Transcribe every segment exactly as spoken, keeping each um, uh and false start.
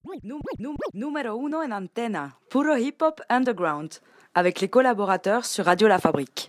Numéro uno en antena, puro hip-hop underground, avec les collaborateurs sur Radio La Fabrique.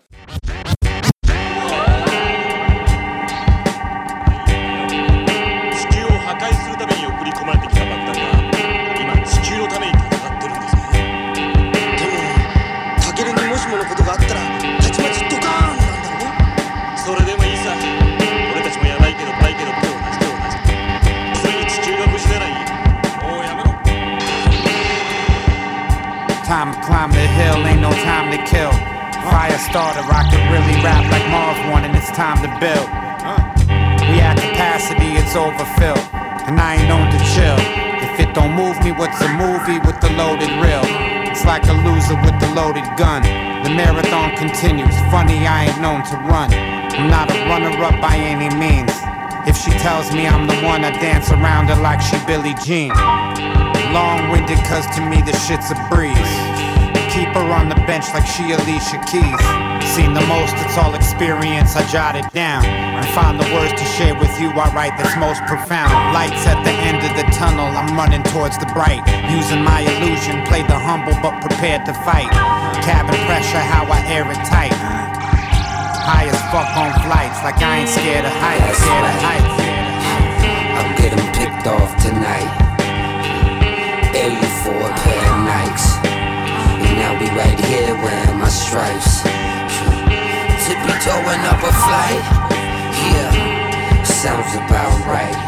'Time to climb the hill, ain't no time to kill. Fire starter, I can really rap like Marv one, and it's time to build. We at capacity, it's overfilled, and I ain't known to chill. If it don't move me, what's a movie with the loaded reel? It's like a loser with the loaded gun. The marathon continues, funny I ain't known to run. I'm not a runner-up by any means. If she tells me I'm the one, I dance around her like she Billie Jean. Long-winded cause to me the shit's a breeze. Keep her on the bench like she Alicia Keys. Seen the most, it's all experience, I jot it down and find the words to share with you I write that's most profound. Lights at the end of the tunnel, I'm running towards the bright. Using my illusion, play the humble but prepared to fight. Cabin pressure, how I air it tight. High as fuck on flights, like I ain't scared of heights, scared of heights. I'll get them picked off tonight. Air you for a pair of Nikes. And I'll be right here wearing my stripes. Tippy toeing up a flight. Yeah, sounds about right.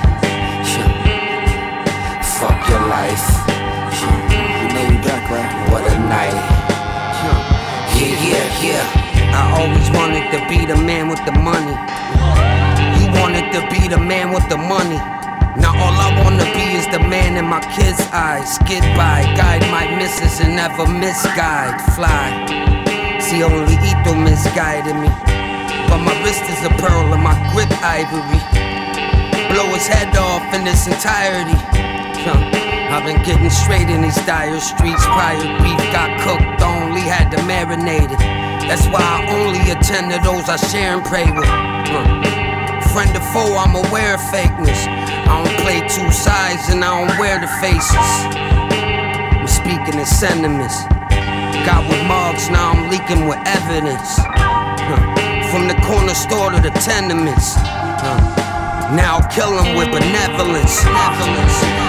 Fuck your life. You know you back, right? What a night. Yeah, yeah, yeah. I always wanted to be the man with the money. You wanted to be the man with the money. Now all I wanna be is the man in my kids' eyes. Skid by, guide my missus and never misguide. Fly, see only Ito misguided me. But my wrist is a pearl and my grip ivory. Blow his head off in its entirety. I've been getting straight in these dire streets. Prior beef got cooked, only had to marinate it. That's why I only attend to those I share and pray with. Friend or foe, I'm aware of fakeness. I don't play two sides and I don't wear the faces. I'm speaking in sentiments. Got with mugs, now I'm leaking with evidence. From the corner store to the tenements. Now I'll kill them with benevolence. benevolence.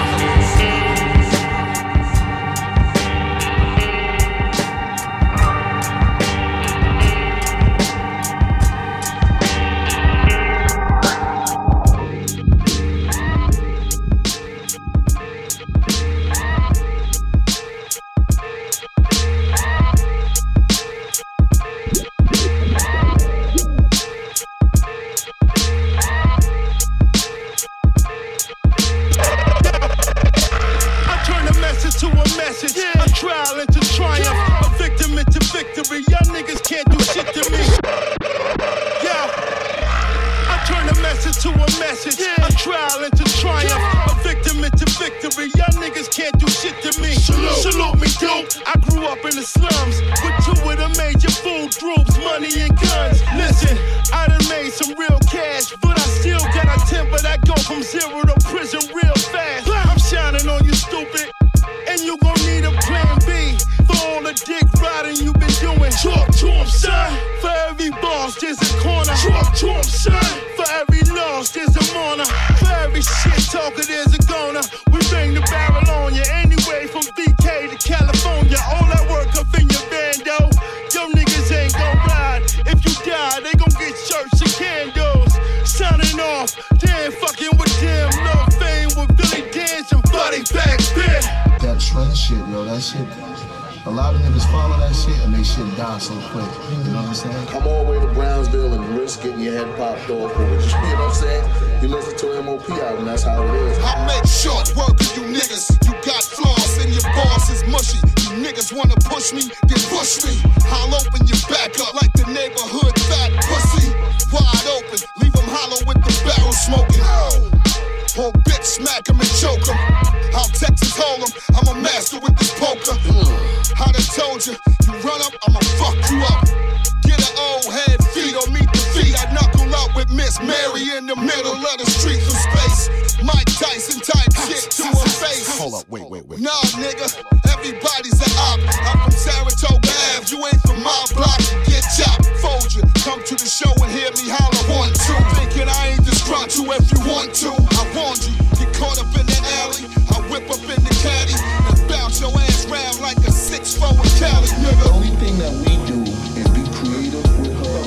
Mary in the middle of the street from space. Mike Tyson type shit to her face. Hold up, wait, wait, wait. Nah, nigga, everybody's an op. I'm from Saratoga Ave, you ain't from my block. Get chopped, fold you. Come to the show and hear me holler one, two. Thinking I ain't disrupt you if you want to. I warned you, get caught up in the alley. I whip up in the caddy and bounce your ass round like a six four in Cali, nigga. The only thing that we do is be creative with her.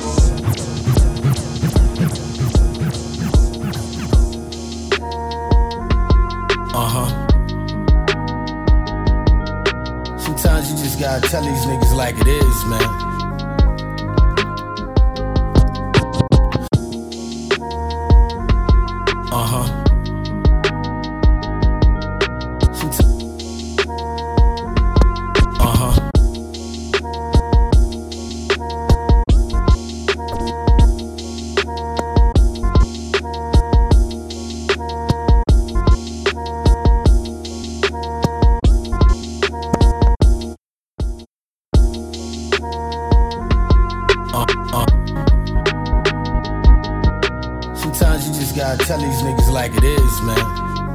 Uh-huh. Sometimes you just gotta tell these niggas like it is, man. Uh-huh. Uh-huh. Sometimes you just gotta tell these niggas like it is, man.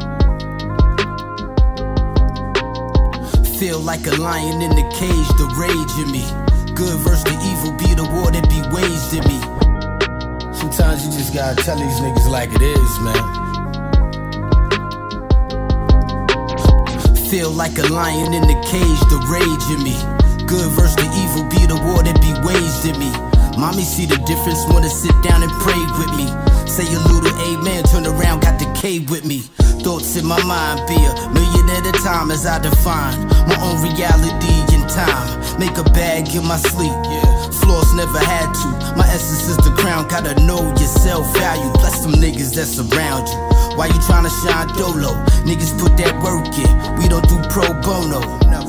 Feel like a lion in the cage, the rage in me. Good versus the evil be the war that be waged in me. Sometimes you just gotta tell these niggas like it is, man. Feel like a lion in the cage, the rage in me. Good versus the evil be the war that be waged in me. Mommy see the difference, wanna sit down and pray with me. Say a little amen, turn around, got the K with me. Thoughts in my mind be a million at a time as I define my own reality in time. Make a bag in my sleep, yeah. Flaws never had to. My essence is the crown, gotta know your self-value. Bless them niggas that's around you. Why you tryna shine dolo? Niggas put that work in, we don't do pro bono.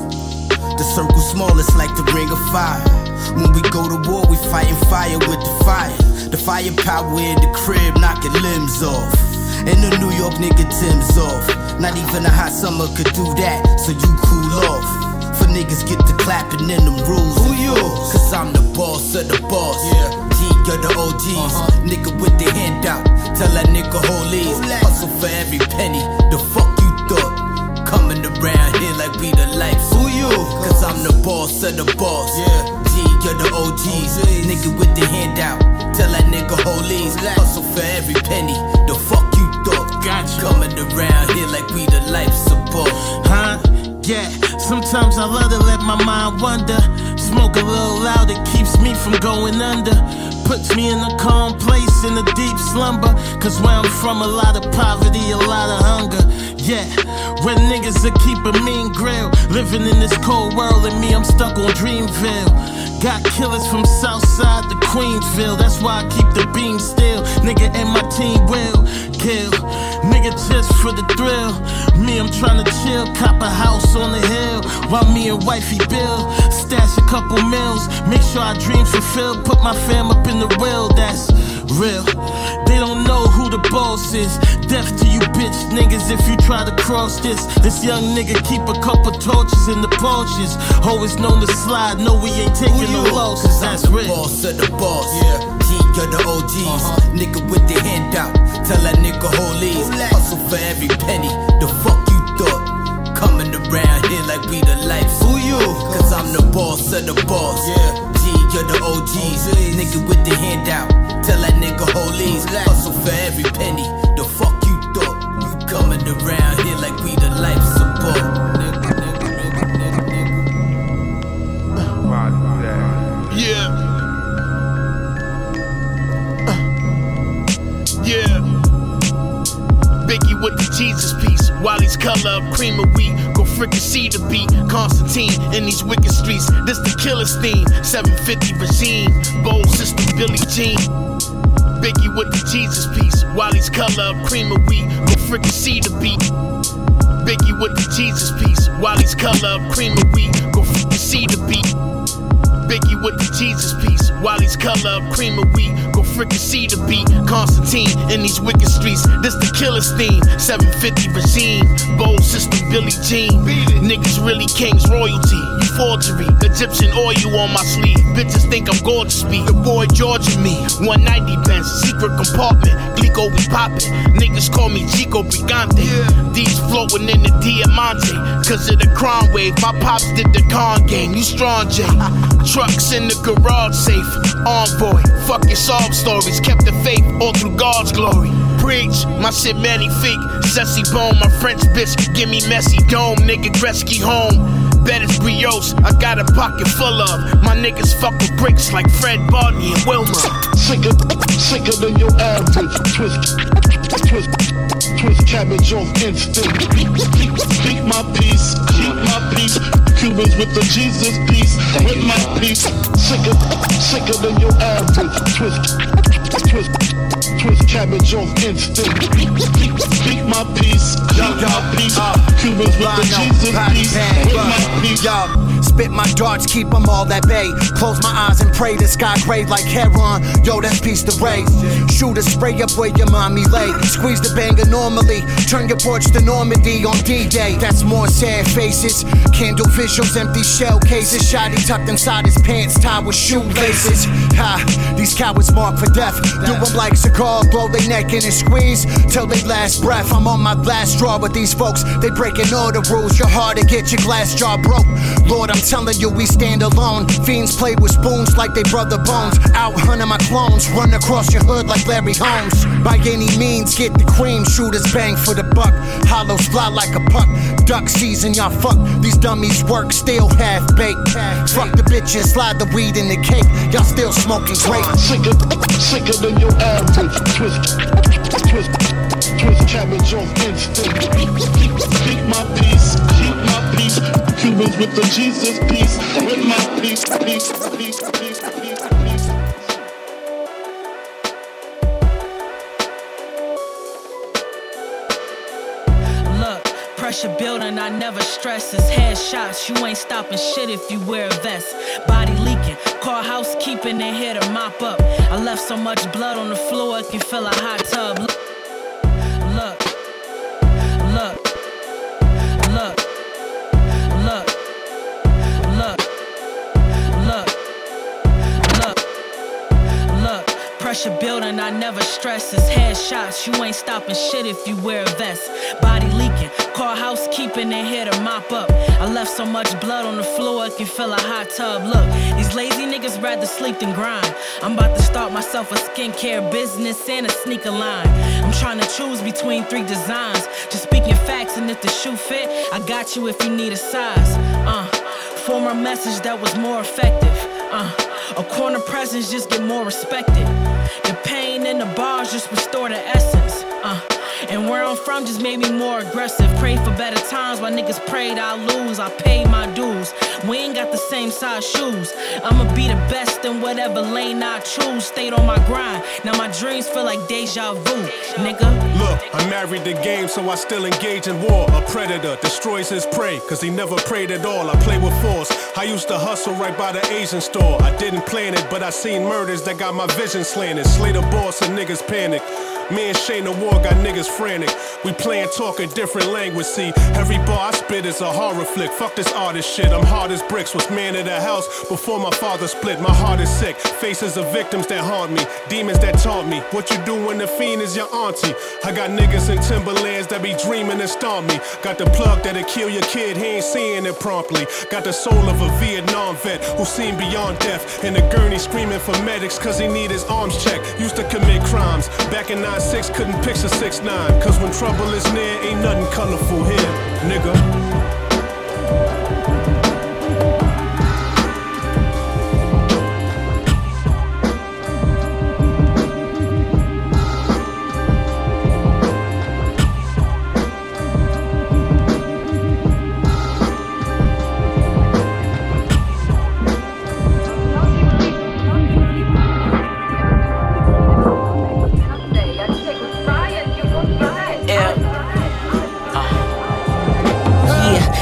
The circle small, it's like the ring of fire. When we go to war, we fighting fire with the fire. The firepower in the crib, knocking limbs off. And the New York nigga Tim's off. Not even a hot summer could do that, so you cool off. For niggas get to clapping in them rules. Who you? Cause I'm the boss of the boss. Yeah. G of the O Gs. Uh-huh. Nigga with the handout. Tell that nigga hold these. Hustle for every penny. The fuck you thought? Coming around here like we the life. Who you? Cause I'm the boss of the boss. Yeah. G of the O Gs. Nigga with the handout. Tell that nigga hold these. Hustle for every penny. The fuck you thought? Gotcha. Coming around here like we the life support. Huh? Yeah. Sometimes I love to let my mind wander. Smoke a little loud, it keeps me from going under. Puts me in a calm place, in a deep slumber. Cause where I'm from, a lot of poverty, a lot of hunger. Yeah, where niggas are keep a mean grill. Living in this cold world, and me, I'm stuck on Dreamville. Got killers from Southside to Queensville. That's why I keep the beam still. Nigga and my team will kill. Nigga just for the thrill. Me, I'm tryna chill, cop a house on the hill. While me and wifey build. Stash a couple mils. Make sure our dreams fulfilled. Put my fam up in the will, that's real. They don't know who the boss is. Death to you bitch niggas if you try to cross this. This young nigga keep a couple torches in the Porsches. Always known to slide, no we ain't taking no losses, that's real. Boss of the boss, yeah. G of the O Gs, uh-huh. Nigga with the handout. Tell that nigga hold these. Hustle for every penny. The fuck you thought? Coming around here like we the life. Who you? Cause I'm the boss of the boss, yeah. G of the O Gs, nigga with the handout. Tell that nigga hold these. Hustle for every penny. The fuck you thought? You coming around here like we the life support. Nigga, nigga, nigga, nigga, nigga. Yeah. Yeah. Biggie with the Jesus piece. Wally's color of cream of wheat. Go fricassee the beat. Constantine in these wicked streets. This the killer's theme. seven fifty regime. Bold system Billie Jean. Biggie with the Jesus piece. Wally's color of cream of wheat. Go fricassee the beat. Biggie with the Jesus piece. Wally's color of cream of wheat. Go fricassee the beat. Biggie with the Jesus piece. Wally's color of cream of wheat. Go fricassee the beat. Constantine in these wicked streets. This the killer's theme. seven fifty regime. Bold system Billie Jean. Niggas really kings royalty. You forgery. Egyptian oil on my sleeve. Bitches think I'm gorgeous. Be the boy George and me. one ninety Benz. Secret compartment. Glico we poppin'. Niggas call me Chico Brigante. These floating in the Diamante. Cause of the crime wave. My pops did the con game. You strong, J. Trucks in the garage safe. Envoy. Fucking sob stories. Kept the faith all through God's glory. Preach. My shit magnifique. Sessy bone. My French bitch. Give me messy dome. Nigga Gretzky home. Bet it's brioche, I got a pocket full of. My niggas fuck with bricks like Fred Barney and Wilma. Sicker, sicker than your average. Twist, twist, twist cabbage off instinct. Speak my peace, keep my peace. Cubans with the Jesus piece, with my peace. Sicker, sicker than your average. Twist, twist, twist cabbage off instinct. Speak my peace, keep my peace. Cubans with the Jesus piece, with my peace. Yo, spit my darts, keep them all at bay. Close my eyes and pray the sky gray like heron. Yo, that's peace to raise. Shoot a spray up where your mommy lay. Squeeze the banger normally. Turn your porch to Normandy on D-Day. That's more sad faces. Candle visuals, empty shell cases. Shotty tucked inside his pants, tied with shoelaces. Ha, these cowards marked for death. Do them like cigars, blow their neck in and squeeze till they last breath. I'm on my last straw with these folks. They breaking all the rules. You're hard to get your glass jar broke. Lord, I'm telling you, we stand alone. Fiends play with spoons like they brother bones. Out hunting my clones, run across your hood like Larry Holmes. By any means, get the cream, shooters bang for the buck. Hollows fly like a puck. Duck season, y'all fuck. These dummies work, still half baked. Fuck the bitches, slide the weed in the cake. Y'all still smoking great. Sicker, sicker than your average. Twist, twist, twist cabbage off instinct. Speak my peace, keep my peace. Cubans with the Jesus piece, with my peace, peace, peace, peace, peace, peace. Look, pressure building, I never stress. It's headshots, you ain't stopping shit if you wear a vest. Body leaking, call housekeeping and here to mop up. I left so much blood on the floor, it can fill a hot tub. Look, look, look, look, look, look, look, look, look. Pressure building, I never stress. It's headshots, you ain't stopping shit if you wear a vest. Body leaking, call housekeeping and here to mop up. I left so much blood on the floor, it can fill a hot tub. Look, these lazy niggas rather sleep than grind. I'm about to start myself a skincare business and a sneaker line. I'm trying to choose between three designs. Just speaking facts, and if the shoe fit, I got you if you need a size. Uh, former message that was more effective. Uh, a corner presence just get more respected. The pain in the bars just restore the essence. Uh, and where I'm from just made me more aggressive. Pray for better times while niggas prayed I'll lose. I paid my dues. We ain't got the same size shoes. I'ma be the best in whatever lane I choose. Stayed on my grind. Now my dreams feel like deja vu, nigga. Look, I married the game, so I still engage in war. A predator destroys his prey, cause he never prayed at all. I play with force. I used to hustle right by the Asian store. I didn't plan it, but I seen murders that got my vision slanted. Slay the boss and niggas panic. Me and Shane the War got niggas frantic. We playin' talk a different language, see. Every bar I spit is a horror flick. Fuck this artist shit, I'm hard as bricks. Was man of the house before my father split. My heart is sick, faces of victims that haunt me. Demons that taunt me. What you do when the fiend is your auntie? I got niggas in Timberlands that be dreaming and stomp me. Got the plug that'll kill your kid, he ain't seeing it promptly. Got the soul of a Vietnam vet who seen beyond death. And the gurney screaming for medics cause he need his arms checked. Used to commit crimes, back in nine six couldn't picture six nine. Cause when trouble is near, ain't nothing colorful here, nigga.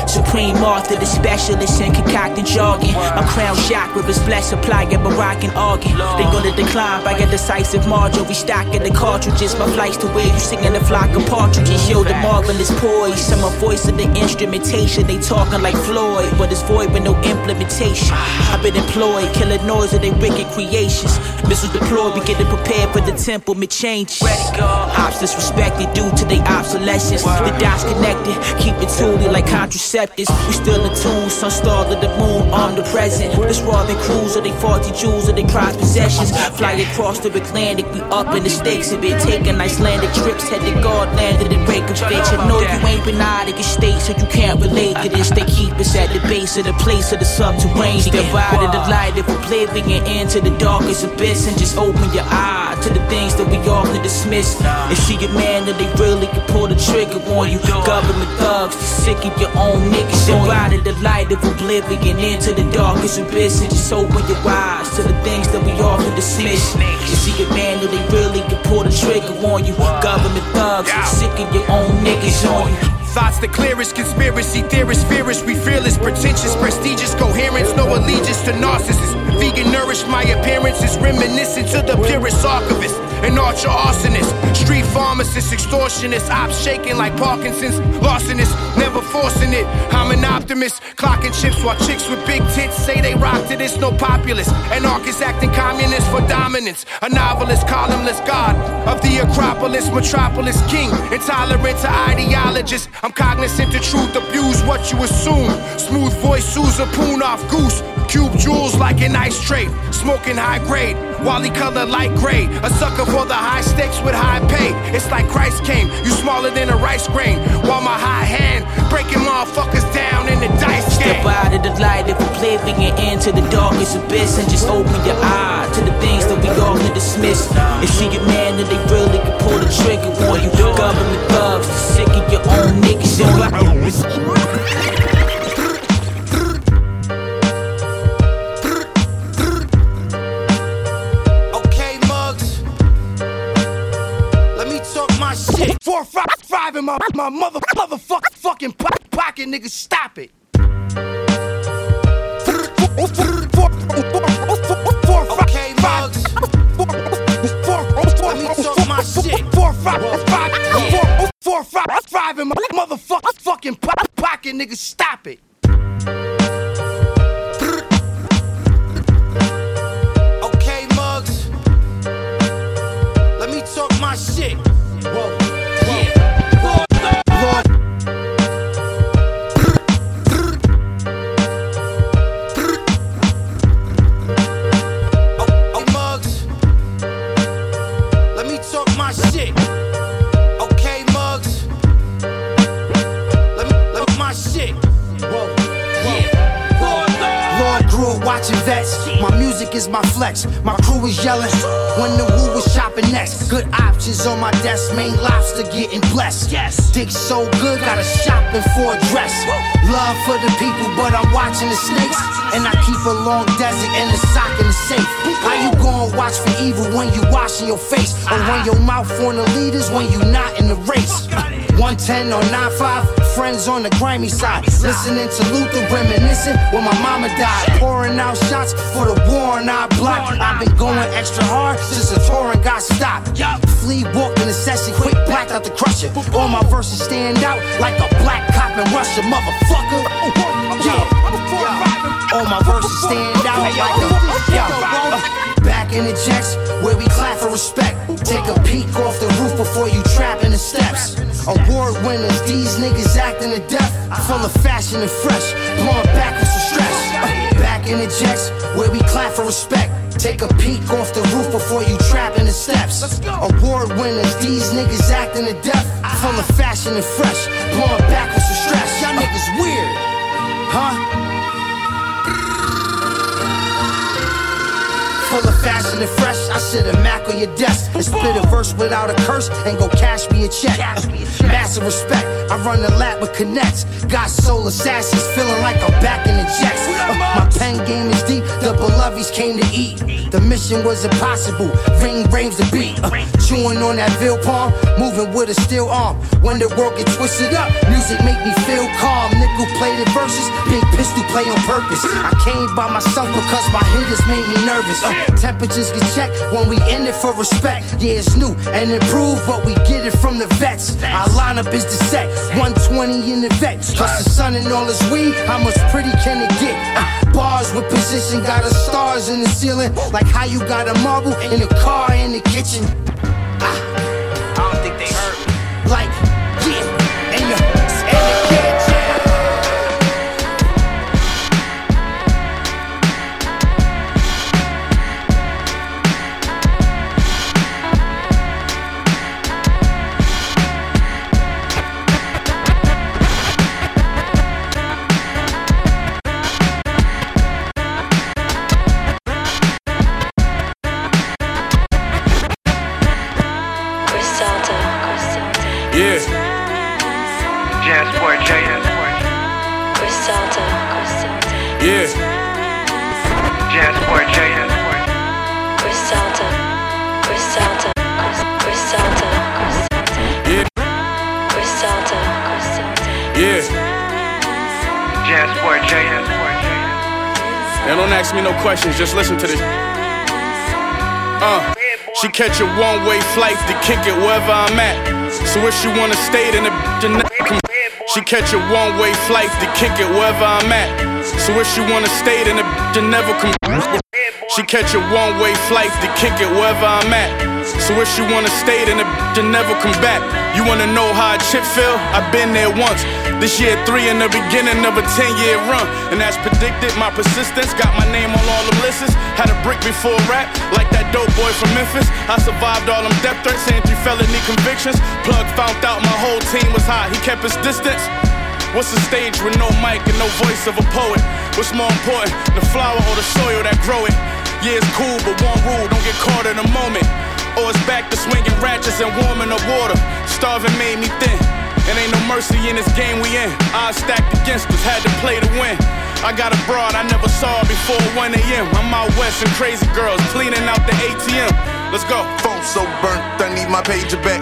Supreme author, the specialist in concocting jargon. My crown chakra is blessed, supplying Moroccan organ. They gonna decline by a decisive margin. Restocking the cartridges, my flights to where you singing a flock of partridges. Yo, the marvelous poise, I'm a voice of the instrumentation. They talking like Floyd, but it's void with no implementation. I've been employed, killing noise of their wicked creations. Missiles deployed, we getting prepared for the temple, mid change. Ops disrespected due to their obsolescence. The dots connected, keep it tooly like contraceptives. We still in tune, sun star to the moon, omnipresent. This Robin Cruise or they faulty jewels or they prized possessions. Fly across the Atlantic, we up in the stakes of it. Taking Icelandic trips, head to God, landed in Reykjavik. I know you ain't been out of your state, so you can't relate to this. They keep us at the base of the place of the subterranean. Step out of the light of oblivion into the darkest abyss and just open your eye to the things that we often dismiss. And see a man that they really can pull the trigger on you. Government thugs, sick of your own niggas. Step out of the light of oblivion into the darkest abyss and just open your eyes to the things that we often dismiss. You see a man that they really can pull the trigger on you. Government thugs, sick of your own niggas on you. Thoughts the clearest, conspiracy theorists, fearless, we fearless, pretentious, prestigious, coherence, no allegiance to narcissists. Vegan nourished, my appearance is reminiscent to the purest archivist. An archer arsonist, street pharmacist, extortionist, ops shaking like Parkinson's, larcenist, never forcing it. I'm an optimist, clocking chips while chicks with big tits say they rock to this, no populist. Anarchist acting communist for dominance. A novelist, columnist, god of the Acropolis, metropolis, king, intolerant to ideologists. I'm cognizant the truth, abuse what you assume. Smooth voice, Sousa, poon off goose. Cube jewels like an ice tray. Smoking high grade, Wally color light gray. A sucker for the high stakes with high pay. It's like Christ came, you smaller than a rice grain. While my high hand breaking motherfuckers down in the dice game. Step out of the light of oblivion into the darkest abyss and just open your eye to the things that we often dismiss. And see a man that they really can pull the trigger on you. Government thugs, sick of your own niggas. Four, five, five in my, my mother, motherfucking fucking pocket, nigga, stop it. Okay, mugs. Let me talk my shit. Four, five, five, four, four, five, five in my motherfucking pocket, nigga, stop it. Okay, mugs. Let me talk my shit. Whoa. Watching vets, my music is my flex. My crew is yelling when the woo was shopping next. Good options on my desk, main lobster getting blessed. Yes, dick so good, gotta shopping for a dress. Love for the people, but I'm watching the snakes. And I keep a long desert and a sock in the safe. How you gon' watch for evil when you washing your face? Or run your mouth on the leaders when you not in the race? one ten or nine five, friends on the grimy side. Listening to Luther, reminiscing when my mama died. Pouring out shots for the war on our block. I've been going extra hard since the touring got stopped. Flea walked in the session, quick blacked out the crusher. All my verses stand out like a black cop in Russia, motherfucker. Yeah, all my verses stand out like a yeah. Back in the jets where we clap for respect. Take a peek off the roof before you trap in the steps. Award winners, these niggas acting to death. Full of fashion and fresh, blowing back with some stress. Back in the jets where we clap for respect. Take a peek off the roof before you trap in the steps. Award winners, these niggas acting to death. Full of fashion and fresh, blowing back with some stress. Y'all niggas weird, huh? Full of fashion and fresh, I sit a Mac on your desk and split a verse without a curse and go cash me a check. Master massive respect. I run the lap with connects. Got soul assassins feeling like I'm back in the jets. Uh, my pen game is deep, the beloveds came to eat. The mission was impossible, ring raves the beat. Uh, chewing on that veal palm, moving with a steel arm. When the world get twisted up, music make me feel calm. Nickel plated verses, big pistol play on purpose. I came by myself because my hitters made me nervous. Uh, temperatures get checked when we in it for respect. Yeah, it's new and improved, but we get it from the vets. Our lineup is the set, one twenty in the vet. Plus the sun and all this weed, how much pretty can it get? Uh, bars with position, got us stars in the ceiling. Like how you got a marble in a car in the kitchen. Uh, I don't think they heard me. Like, yeah, and the, and the kitchen. Yeah. Jansport J. Yeah. Jansport J. Yeah. Yeah. Jansport J. Now don't ask me no questions, just listen to this. Uh, she catch a one-way flight to kick it wherever I'm at. So if she wanna stay, then the bitch she catch a one-way flight to kick it wherever I'm at. So if she wanna stay, then the bitch never come. She catch a one-way flight to kick it wherever I'm at. So if she wanna stay, then the bitch never come back. You wanna know how a chip feel? I've been there once. This year three in the beginning of a ten-year run. And as predicted, my persistence got my name on all them lists. Had a brick before rap, like that dope boy from Memphis. I survived all them death threats and three felony convictions. Plug found out my whole team was hot, he kept his distance. What's a stage with no mic and no voice of a poet? What's more important, the flower or the soil that grow it? Yeah, it's cool, but one rule, don't get caught in a moment. Or it's back to swinging ratchets and warming up water. Starving made me thin, and ain't no mercy in this game we in. Odds stacked against us, had to play to win. I got a broad I never saw before one a.m. I'm out west and crazy girls cleaning out the A T M. Let's go. Phone so burnt, I need my pager back.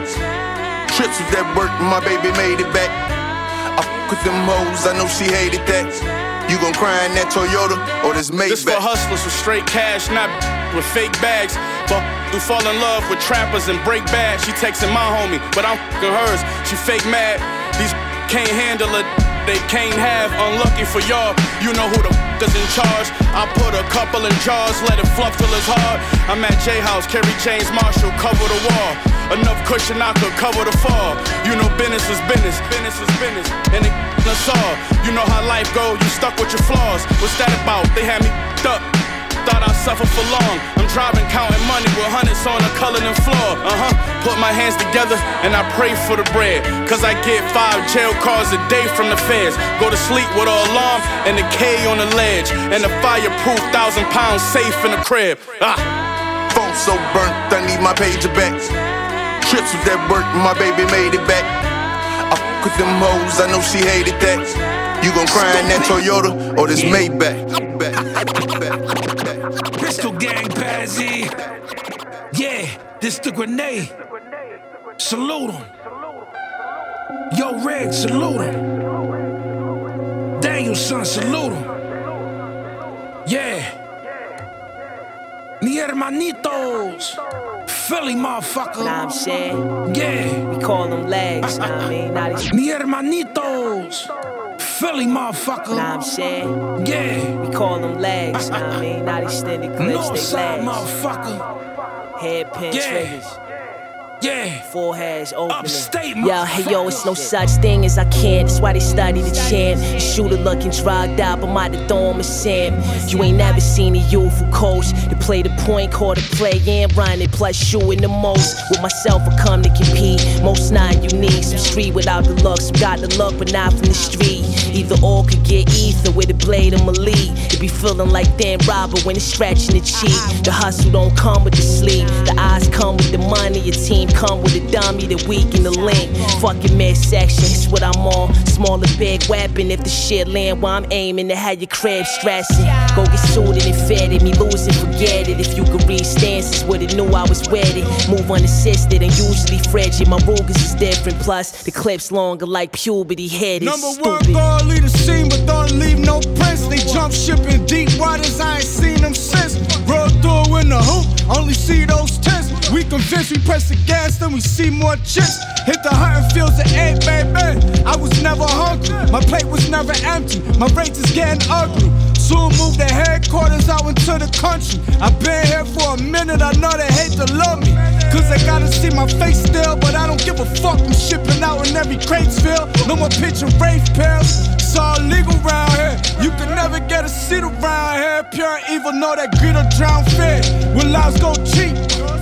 Trips with that work, my baby made it back. I fuck with them hoes, I know she hated that. You gon' cry in that Toyota or this Maybach? This for hustlers with straight cash, not with fake bags. But who fall in love with trappers and break bad. She texting my homie, but I'm fucking hers. She fake mad. These can't handle it. They can't have. Unlucky for y'all, you know who the f is in charge. I put a couple in jars, let it flop till it's hard. I'm at J House, Kerry James Marshall, cover the wall. Enough cushion I could cover the fall. You know business is business, business is business, and it us all. You know how life go, you stuck with your flaws. What's that about? They had me up. Thought I'd suffer for long. I'm driving, counting money with hundreds on the Cullinan floor. Uh-huh. Put my hands together and I pray for the bread. Cause I get five jail calls a day from the feds. Go to sleep with an alarm and a K on the ledge. And a fireproof thousand pounds safe in the crib. Ah. Phone so burnt, I need my pager back. Trips with that work, my baby made it back. I fuck with them hoes, I know she hated that. You gon' cry in that Toyota or this Maybach? Pistol gang, Pazzy. Yeah, this the grenade. Salute him. Yo, Red, salute him. Daniel, son, salute him. Yeah. Mi hermanitos. Philly, motherfucker. Nah, I'm saying. Yeah. We call them legs, nah, I mean, not these. Mi hermanitos. Philly, motherfucker. Nah, I'm saying. Yeah. We call them legs, nah, I mean, not extended clips, they legs. Motherfucker. Hairpin yeah. triggers. Yeah. Foreheads opening. Upstate, yo, hey, yo, it's no such thing as I can't. That's why they study the chant. Shooter looking drugged out, but my the dome is Sam. You ain't never seen a youthful coach to play the point, call the play and run it, plus shooting the most. With myself, I come to compete. Most not unique. Some street without the luck, some got the luck, but not from the street. Either or could get ether with a blade of my lead. It be feeling like Dan Robert when it's stretching the cheek. The hustle don't come with the sleep. The eyes come with the money. Your team come with a dummy that weaken the link. Fucking midsection, it's what I'm on. Small or big weapon, if the shit land while I'm aiming to have your crib stressing. Go get suited and fitted, me lose it, forget it. If you could read stances, would've knew I was with it. Move unassisted and usually frigid. My Rugers is different, plus the clip's longer like puberty head is Number stupid. one, go lead the scene, but don't leave no prints. They jump ship in deep waters, I ain't seen them since. Roll through in the hoop, only see those tents. We convinced, we press the gas, then we see more chips. Hit the hunting fields at eight, baby. I was never hungry, my plate was never empty. My rates is getting ugly. Soon move the headquarters out into the country. I've been here for a minute, I know they hate to love me. Cause they gotta see my face still, but I don't give a fuck. I'm shipping out in every Cratesville. No more pitching Wraith pills. It's all legal round here. You can never get a seat around here. Pure evil, know that greed will drown fear. When lives go cheap.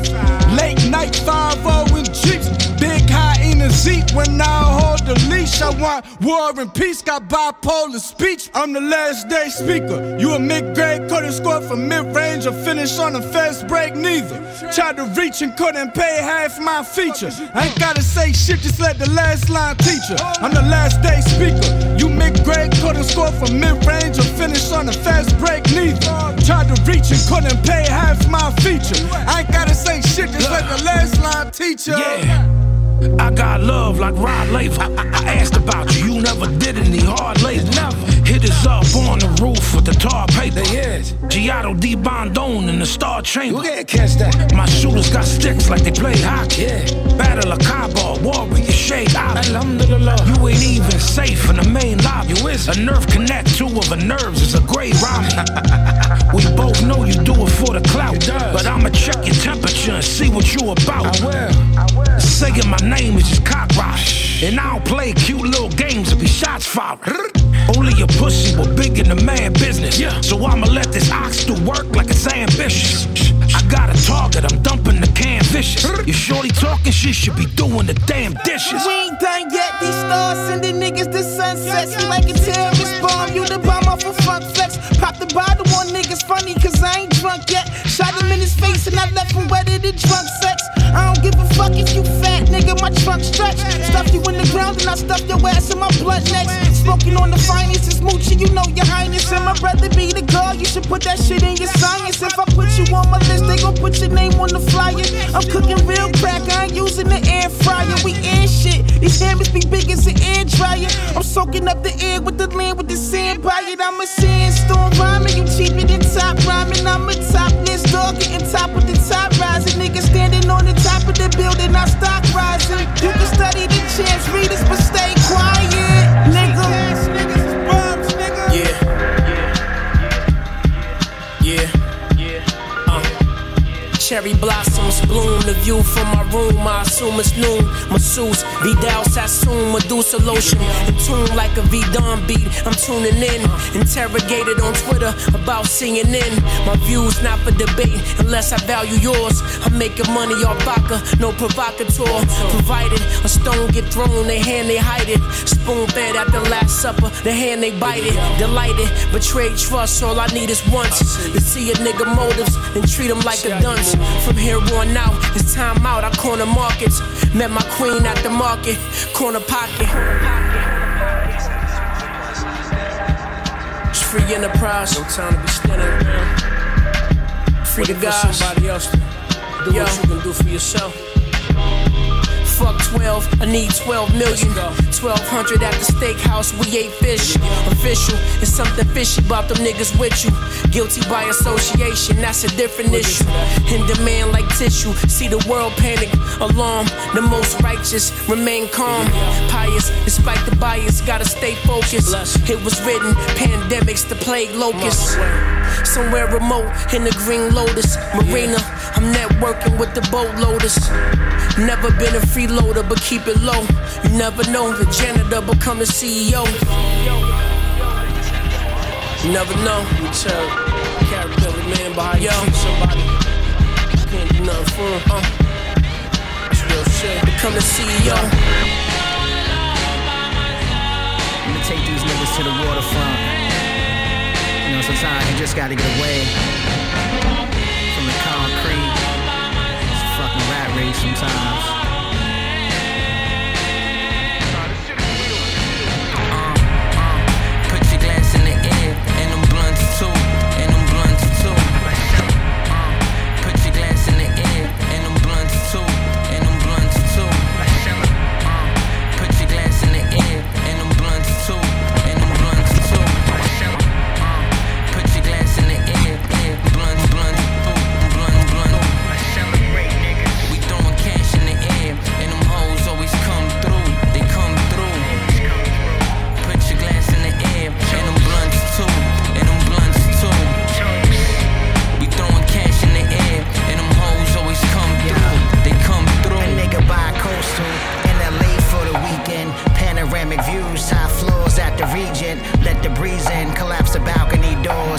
Late night five oh in Jeeps. Big hyenas eat when I hold the leash. I want war and peace, got bipolar speech. I'm the last day speaker. You a mid-grade, couldn't score from mid-range or finish on a fast break, neither. Tried to reach and couldn't pay half my feature. I ain't gotta say shit, just let the last line teach her. I'm the last day speaker. You mid-grade, couldn't score from mid-range or finish on a fast break, neither. Tried to reach and couldn't pay half my feature. I ain't gotta say shit, just let the last line teach her. Yeah. I got love like Rod Laver. I, I, I asked about you, you never did any hard labor. Never. Hit us up on the roof with the tar paper. Giotto D Bondone in the Star Chamber. You can't catch that. My shooters got sticks like they play hockey. Yeah. Battle of Cabo, Warrior, Shade out. Alhamdulillah. You ain't even safe in the main lobby. You is. A nerve connect, two of the nerves is a great rhyme. We both know you do it for the clout. But I'ma check your temperature and see what you about. I will. I will. Saying my name is just cock rock. And I don't play cute little games to be shots fired. Only a pussy will big in the man business. Yeah. So I'ma let this ox do work like it's ambitious. I got a target, I'm dumping the can vicious. You shorty talking, she should be doing the damn dishes. We ain't done yet, these stars sending niggas to sunsets. You like a terrorist bomb, you the bomb off a funk flex. Pop the bottle on niggas funny cause I ain't drunk yet. Shot him in his face and I left him wetter than drunk sex. I don't give a fuck if you fat, nigga, my trunk stretch. Stuff you in the ground and I stuff your ass in my blunt next. Smoking on the finest, it's moochie, you know your highness. And my brother be the girl, you should put that shit in your science. If I put you on my list, they gon' put your name on the flyer. I'm cooking real crack, I ain't using the air fryer. We in shit, these hammers be big as an air dryer. I'm soaking up the air with the land with the sand by it. I'm a sandstorm rhyming, you cheaper than top rhyming. I'm a topless dog, getting top with the top rising. Niggas standing on the top of the building, I stock rising. You can study the champs, read us, but stay quiet, nigga. Yeah. Yeah. Yeah. Uh. Cherry blossoms bloom, the view from my room, I assume it's noon. Masseuse, Vidal Sassoon, Medusa lotion. In tune like a V-Don beat, I'm tuning in. Interrogated on Twitter about C N N. My views not for debate unless I value yours. I'm making money off vodka, no provocateur. Provided a stone get thrown, they hand they hide it. Spoon fed at the last supper, the hand they bite it. Delighted, betrayed trust, all I need is once. To see a nigga motives, then treat him like a dunce. From here on out, it's time out, I corner markets. Met my queen at the market, corner pocket. It's free enterprise, no time to be standing around. Free the guys, somebody else to do Yo. What you can do for yourself. Fuck twelve, I need twelve million. twelve hundred at the steakhouse, we ate fish. Official, it's something fishy about them niggas with you. Guilty by association, that's a different issue. In demand like tissue, see the world panic. Alarm, the most righteous, remain calm. Pious, despite the bias, gotta stay focused. It was written, pandemics, the plague locusts. Somewhere remote, in the Green Lotus Marina, I'm networking with the boatloaders. Never been a freeloader, but keep it low. You never know, the janitor become the C E O. You never know. You tell character man behind you treat somebody, you can't do nothing for him. Uh, that's real shit. Become the C E O. I'm gonna take these niggas to the waterfront. You know, sometimes you just gotta get away from the concrete. It's a fucking rat race sometimes.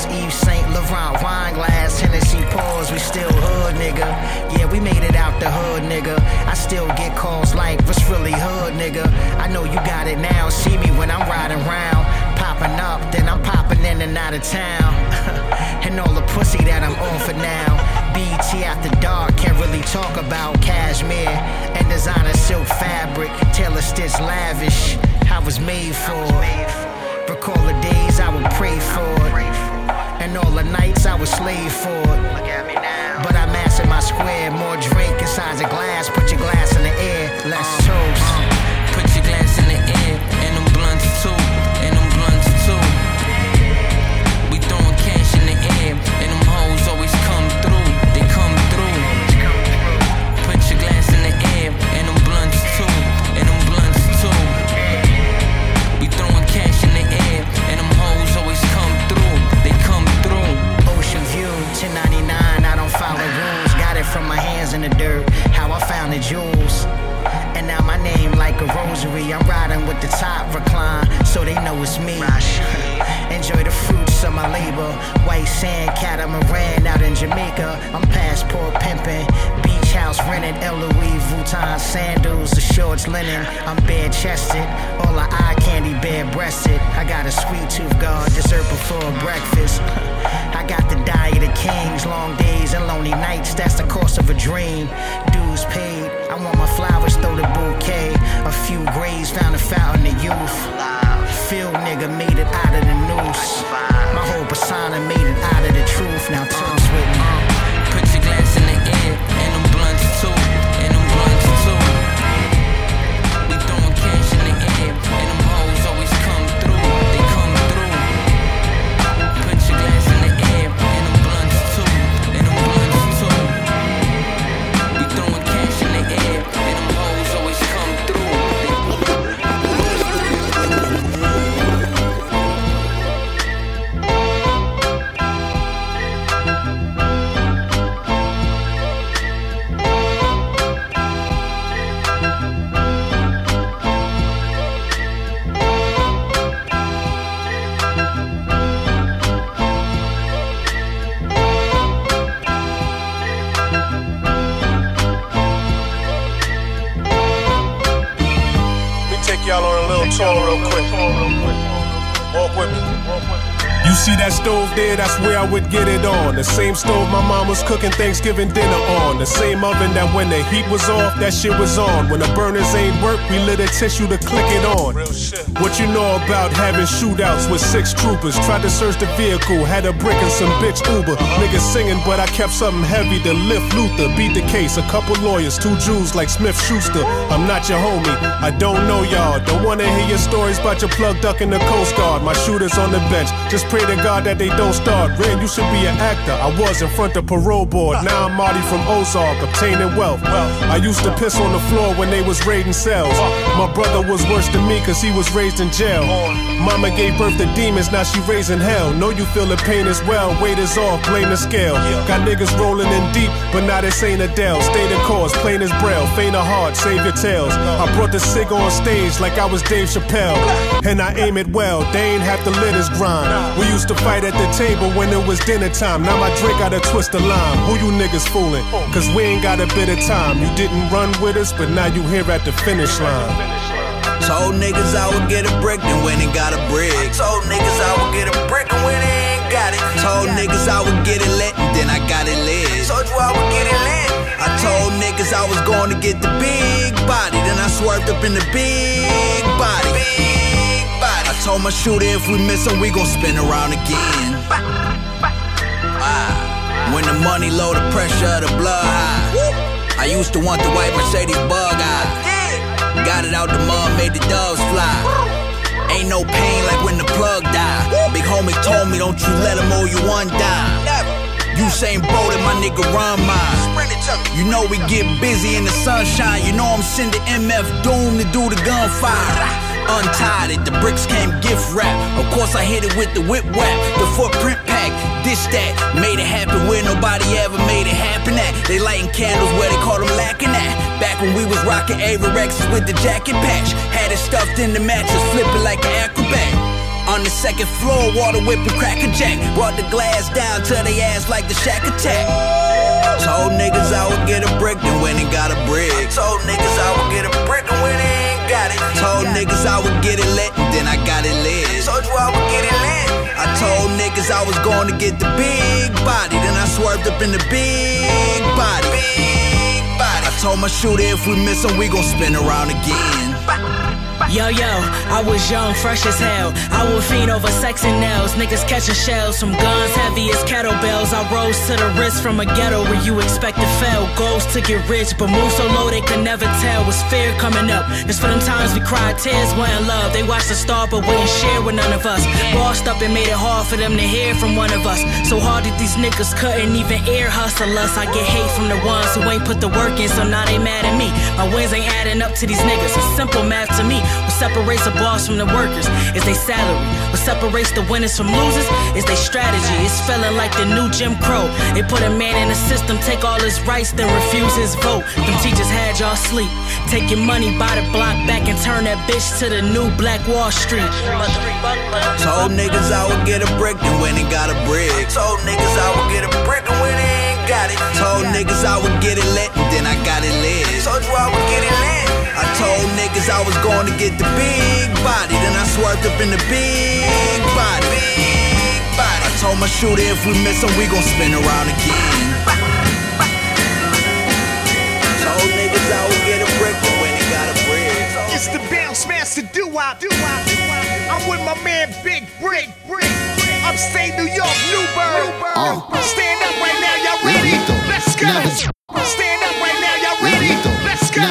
Pause, Yves Saint Laurent, wine glass, Hennessy pause. We still hood, nigga. Yeah, we made it out the hood, nigga. I still get calls like, what's really hood, nigga? I know you got it now. See me when I'm riding round, popping up, then I'm popping in and out of town. And all the pussy that I'm on for now. B E T after dark, can't really talk about cashmere and designer silk fabric, tailor stitch lavish. I was made for it. Recall the days I would pray for it, and all the nights I would slave for it. But I mastered my square, more drink inside a glass. Put your glass in the air, let's toast. Put your glass in the air, and them blunts too, and them blunts too. We throwing cash in the air, and them hoes always come through. They come through. Put your glass in the air, and them blunts too, and them blunts too. We throwing cash in the air, and them hoes always come through. They come through. Ocean view, ten ninety-nine. I don't follow rules. Got it from my hands in the dirt. How I found the jewels. And now my name like a rosary. I'm riding with the top recline, so they know it's me. Enjoy the fruits of my labor. White sand catamaran out in Jamaica. I'm passport pimping. Beach house rented. L. Louis Vuitton sandals. The shorts linen. I'm bare chested. All the eye candy bare breasted. I got a sweet tooth guard. Dessert before breakfast. I got the diet of kings. Long days and lonely nights. That's the cost of a dream. Dues paid. I want my flowers, throw the bouquet. A few graves, found a fountain of youth. Phil nigga made it out of the noose. My whole persona made it out of the truth. Now toast with me. Put your glass in the air, and them blunts too, and them blunts too. We throwing cash in the air, and them hoes always come through. They come through. Put your glass in the air, and them blunts too, and them blunts too. We throwing cash in the air, and them hoes always come through. Y'all on a little tour real quick. Walk with me. You see that stove there? That's where I would get it on. The same stove my mom was cooking Thanksgiving dinner on. The same oven that when the heat was off, that shit was on. When the burners ain't work, we lit a tissue to click it on. What you know about having shootouts with six troopers? Tried to search the vehicle, had a brick and some bitch Uber. Niggas singing, but I kept something heavy to lift Luther. Beat the case, a couple lawyers, two Jews like Smith Schuster. I'm not your homie, I don't know y'all. Don't wanna hear your stories about your plug duck in the Coast Guard. My shooters on the bench, just pray to God that they don't start. Ren, you should be an actor. I was in front of parole board. Now I'm Marty from Ozark, obtaining wealth. I used to piss on the floor when they was raiding cells. My brother was worse than me cause he was raised in jail. Mama gave birth to demons, now she raising hell. Know you feel the pain as well. Weight is off, blame the scale. Got niggas rolling in deep, but now this ain't Adele. Stay the course, plain as braille. Faint of heart, save your tails. I brought the cig on stage like I was Dave Chappelle. And I aim it well, they ain't have to let us grind. We used to fight at the table when it was dinner time. Now my drink got a twist of lime. Who you niggas fooling? Cause we ain't got a bit of time. You didn't run with us, but now you here at the finish line. Told niggas I would get a brick, then went and got a brick. I told niggas I would get a brick, and when they ain't got it. Told niggas I would get it lit, and then I got it lit. Told you I would get it lit. I told niggas I was going to get the big body, then I swerved up in the big body. Big body. I told my shooter if we miss him, we gon' spin around again. Ah. When the money low, the pressure of the blood high. I used to want the white Mercedes bug eye. Got it out the mud, made the doves fly. Ain't no pain like when the plug died. Big homie told me, don't you let him owe you one dime. Usain Bolt and my nigga run mine. You know we get busy in the sunshine. You know I'm sending M F Doom to do the gunfire. Untied it, the bricks came gift wrap. Of course I hit it with the whip wrap. The footprint pack, this that. Made it happen where nobody ever made it happen at. They lighting candles where they call them lacking at. Back when we was rocking Averexes with the jacket patch. Had it stuffed in the mattress, flipping like an acrobat. On the second floor, water whipping cracker jack. Brought the glass down to they ass like the Shack Attack. Told niggas I would get a brick, then went and got a brick. Told niggas I would get a brick, and when they ain't got it. Told niggas I would get it lit, then I got it lit. Told you I would get it lit. I told niggas I was going to get the big body, then I swerved up in the big body. Big body. I told my shooter if we miss him, we gon' spin around again. Yo, yo, I was young, fresh as hell. I would fiend over sex and nails. Niggas catching shells from guns heavy as kettlebells. I rose to the wrist from a ghetto where you expect to fail. Goals to get rich, but move so low they could never tell. Was fear coming up? It's for them times we cried tears, wasn't love. They watched the star but wouldn't share with none of us. Bossed up and made it hard for them to hear from one of us. So hard that these niggas couldn't even ear hustle us. I get hate from the ones who ain't put the work in, so now they mad at me. My wins ain't adding up to these niggas. It's simple math to me. What separates the boss from the workers is they salary. What separates the winners from losers is they strategy. It's feeling like the new Jim Crow. They put a man in the system, take all his rights, then refuse his vote. Them teachers had y'all sleep. Take your money by the block back and turn that bitch to the new Black Wall Street. Told niggas I would get a brick, then went and got a brick. Told niggas I would get a brick, and when they ain't got it. Told niggas I would get it lit, then I got it lit. Told you I would get it lit. I told niggas I was going to get the big body, then I swerved up in the big body. Big body. I told my shooter if we miss him, we gon' spin around again. Told niggas I would get a brick, but when they got a brick. It's the bounce master doo-wop. I'm with my man Big Brick. Upstate New York, Newburgh. Uh. Stand up right now, y'all ready? Let's go. Stand up right now, y'all ready? Let's go.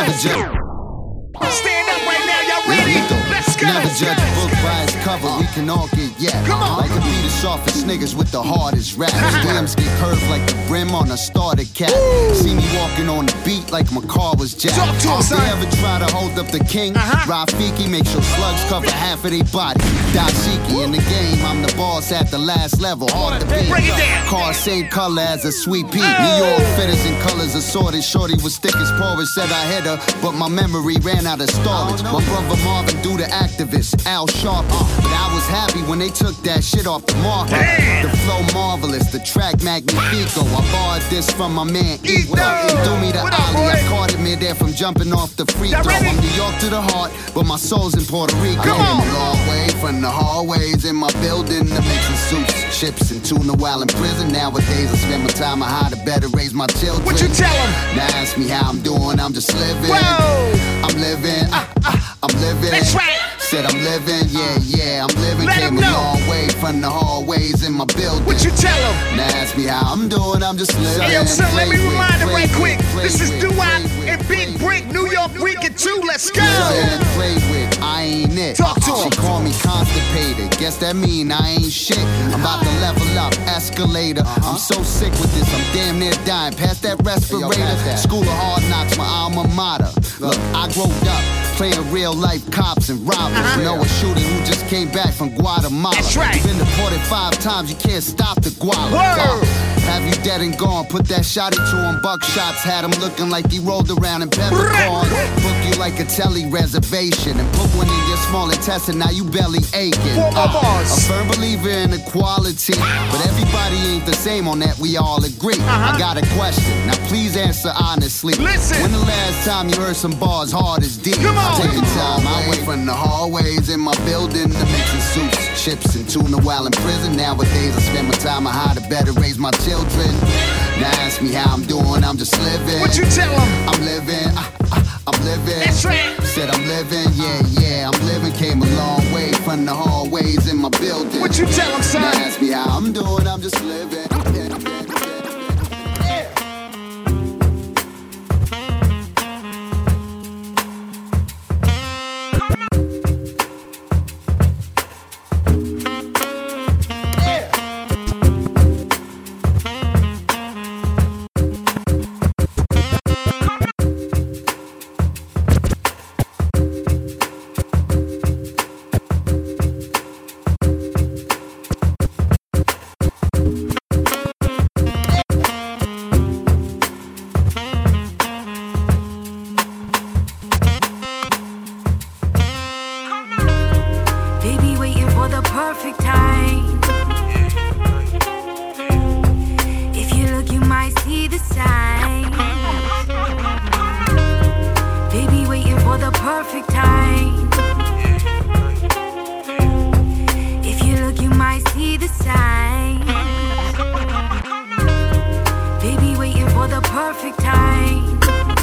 Stand up right now, y'all ready? Let's go. Never judge a book by its cover, we can all get yapped. Come on. Like to be the softest niggas with the hardest raps. Stems get curved like the brim on a starter cap. See me walking on the beat like my car was jacked. Talk to 'em, If they son. ever try to hold up the king, Uh-huh. Rafiki makes sure slugs cover half of their body. Dashiki in the game, I'm the boss at the last level. Hard to beat. Break it down. Car same color as a sweet pea. New York fitters and colors assorted. Shorty was thick as porridge, said I hit her, but my memory ran out of storage. My brother Marvin do the activist, Al Sharpton. But I was happy when they took that shit off the market. The flow marvelous, the track magnifico. I borrowed this from my man Eco. He threw me the ollie, I caught him midair from jumping off the free throw. I'm New York to the heart, but my soul's in Puerto Rico. Come on. A long way from the hallways in my building to mixing soups, chips, and tuna while in prison. Nowadays I spend my time on how to better raise my children. What you tell 'em? Now ask me how I'm doing, I'm just living. Whoa. I'm living, uh, uh, I'm living. That's right. Said I'm living, yeah, yeah, I'm living. Let 'em Came a know. long way from the hallways in my building. What you tell 'em? Now ask me how I'm doing, I'm just living. Hey, yo, son, let me Play with, remind it play right with, quick. play This is with, Doo-Wop play with, and play Big with, Brick, New York Weekend two. Let's go. Living, play with, I ain't it. Talk to She 'em. call me constipated, guess that mean I ain't shit. I'm about to level up, escalator. I'm so sick with this, I'm damn near dying. Pass that respirator. School of Hard Knocks, my alma mater. Look, I grew up playing real life cops and robbers. Uh-huh. Know a shooter who just came back from Guatemala. That's right. Been deported five times, you can't stop the guala. Word. Uh, Have you dead and gone? Put that shotty to him. Buckshots had him looking like he rolled around in peppercorn. Book you like a telly reservation and put one in your small intestine. Now you belly aching. Four more Uh, bars. a firm believer in equality, but everybody ain't the same on that. We all agree. Uh-huh. I got a question. Now please answer honestly. Listen. When the last time you heard some bars hard as deep? Come on. Taking time away from the hallways in my building to mixing soups, chips, and tuna while in prison. Nowadays I spend my time on how to better raise my children. Now ask me how I'm doing, I'm just living. What you tell 'em? I'm living, uh, uh, I'm living. That's right. Said I'm living, yeah, yeah, I'm living. Came a long way from the hallways in my building. What you tell 'em, son? Now ask me how I'm doing, I'm just living. perfect time.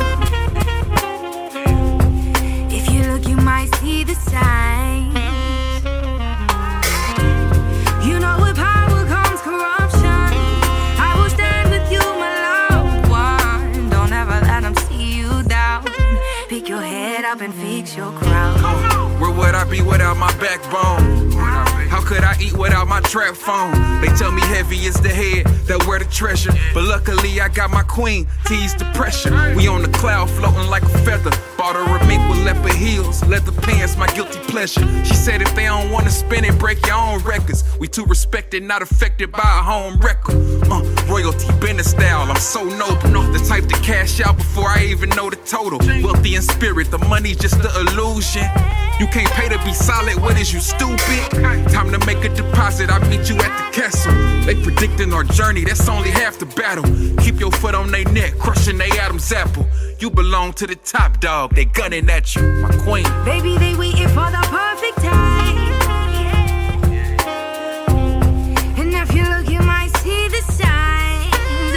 If you look, you might see the signs. You know with power comes corruption. I will stand with you, my loved one. Don't ever let them see you down. Pick your head up and fix your crown. Where would I be without my backbone? How could I eat without my trap phone? They tell me heavy is the head that wear the treasure, but luckily I got my queen to ease the pressure. We on the cloud floating like a feather. Bought her a mink with leopard heels, leather pants, my guilty pleasure. She said if they don't wanna spin it, break your own records. We too respected, not affected by a home record. Uh, royalty, business style, I'm so noble. The type to cash out before I even know the total. Wealthy in spirit, the money's just the illusion. You can't pay to be solid, what is you, stupid? Time to make a deposit, I meet you at the castle. They predicting our journey, that's only half the battle. Keep your foot on their neck, crushing they Adam's apple. You belong to the top dog, they gunning at you, my queen. Baby, they waiting for the perfect time. And if you look, you might see the signs.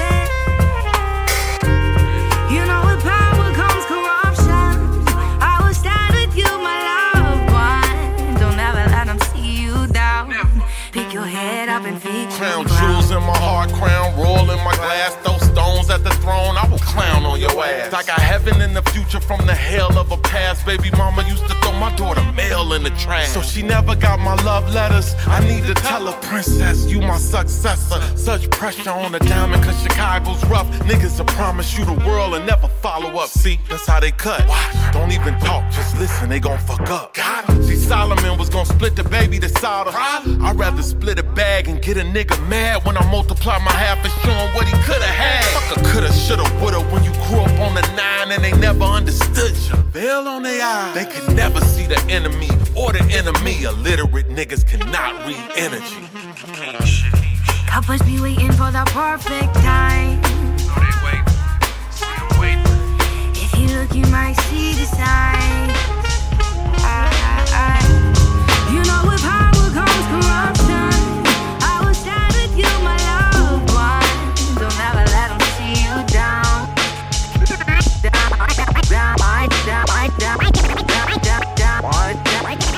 You know with power comes corruption. I will stand with you, my loved one. Don't ever let them see you down. Pick your head up and feed Crown jewels in my heart, crown royal in my glass. Those stones at the throne, I will clown on your ass. I got heaven in the future from the hell of a past. Baby mama used to throw my daughter mail in the trash. So she never got my love letters. I need to tell her, princess, you my successor. Such pressure on the diamond cause Chicago's rough. Niggas will promise you the world and never follow up. See, that's how they cut. Watch. Don't even talk, just listen, they gon' fuck up. Got him. See, Solomon was gon' split the baby to solder. I'd rather split a bag and get a nigga mad when I multiply my half and show him what he coulda had. Fuck a coulda, shoulda, woulda when you grew up on the nine and they never understood you. Veil on their eyes, they could never see the enemy or the enemy. Illiterate niggas cannot read energy. Couples be waiting for the perfect time. So they wait, still wait. If you look, you might see the signs. I, I, I. You know with power comes corruption. I will stand with you, my loved one. Don't ever let them see you down. Down, down, down, down, down, down, down, down.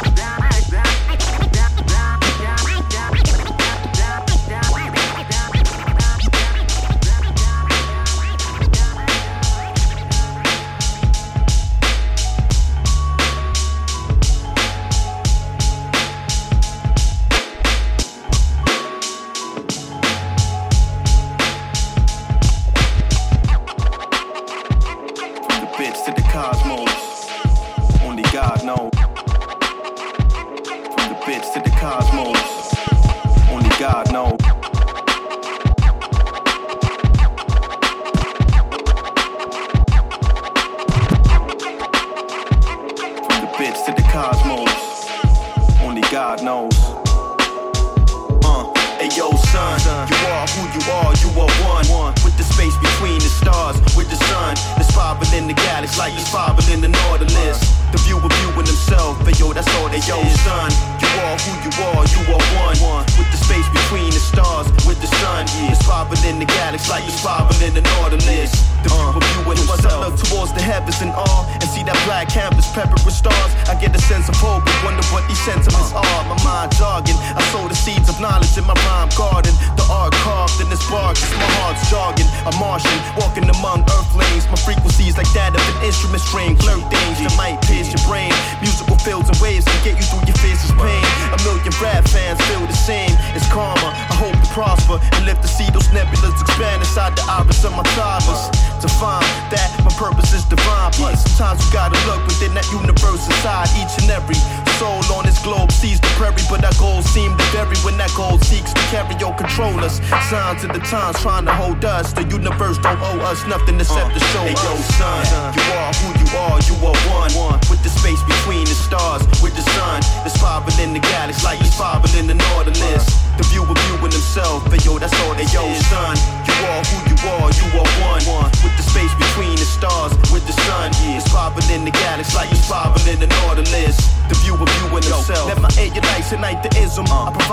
Signs of the times trying to hold us. The universe don't owe us nothing except uh, to show hey, us. Yo, son, you are who you are, you are one. one. With the space between the stars, with the sun. There's five in the galaxy, like he's five in the Nautilus. The viewer viewing himself, but yo, that's all they yo, son. You are who you are, you are one. one. With the space between the stars, with the sun. Yeah, it's five in the galaxy, like he's five in the Nautilus. The viewer viewing himself. Let my air your lights ignite the ism. Uh, I provide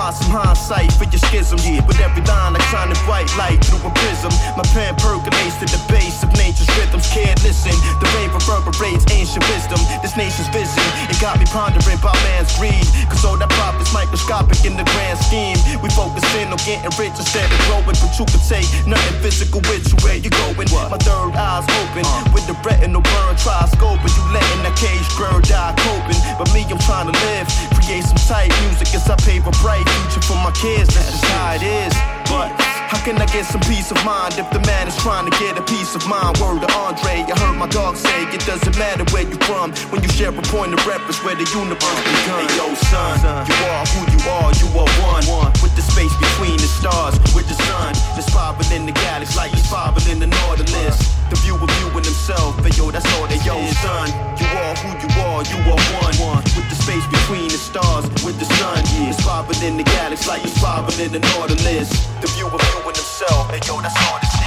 find some hindsight for your schism. Yeah, with every line I shine a bright light through a prism. My pen percolates to the base of nature's rhythms. Can't listen, the rain reverberates ancient wisdom. This nation's vision, it got me pondering about man's greed. Cause all that profit's microscopic in the grand scheme. We focus in on getting rich instead of growing. But you can take nothing physical with you where you going. My third eye's open, with the retinal burn, try scoping. You letting that cage bird die coping. But me, I'm trying to live, create some tight music as I pave a bright future for my kids. That's just how it is. But how can I get some peace of mind if the man is trying to get a peace of mind? Word to Andre, I heard my dog say it doesn't matter where you from when you share a point of reference where the universe begun. Hey yo son, you are who you are, you are one with the space between the stars, with the sun that's spiraling the galaxy like he's spiraling the Nautilus. The view of you and himself, but yo, that's all they yo son. You are who you are, you are one with the space between the stars, with the sun that's spiraling the galaxy like he's spiraling the Nautilus. The view of you and himself, and yo, that's all this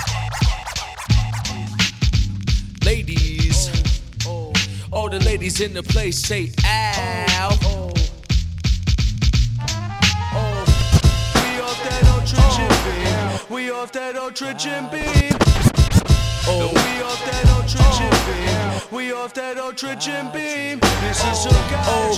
is. Ladies, all the ladies in the place say ow. We off that ultra Jim beam. We off that ultra Jim beam. Oh, we off that ultra Jim beam. We off that ultra Jim beam. This is so oh,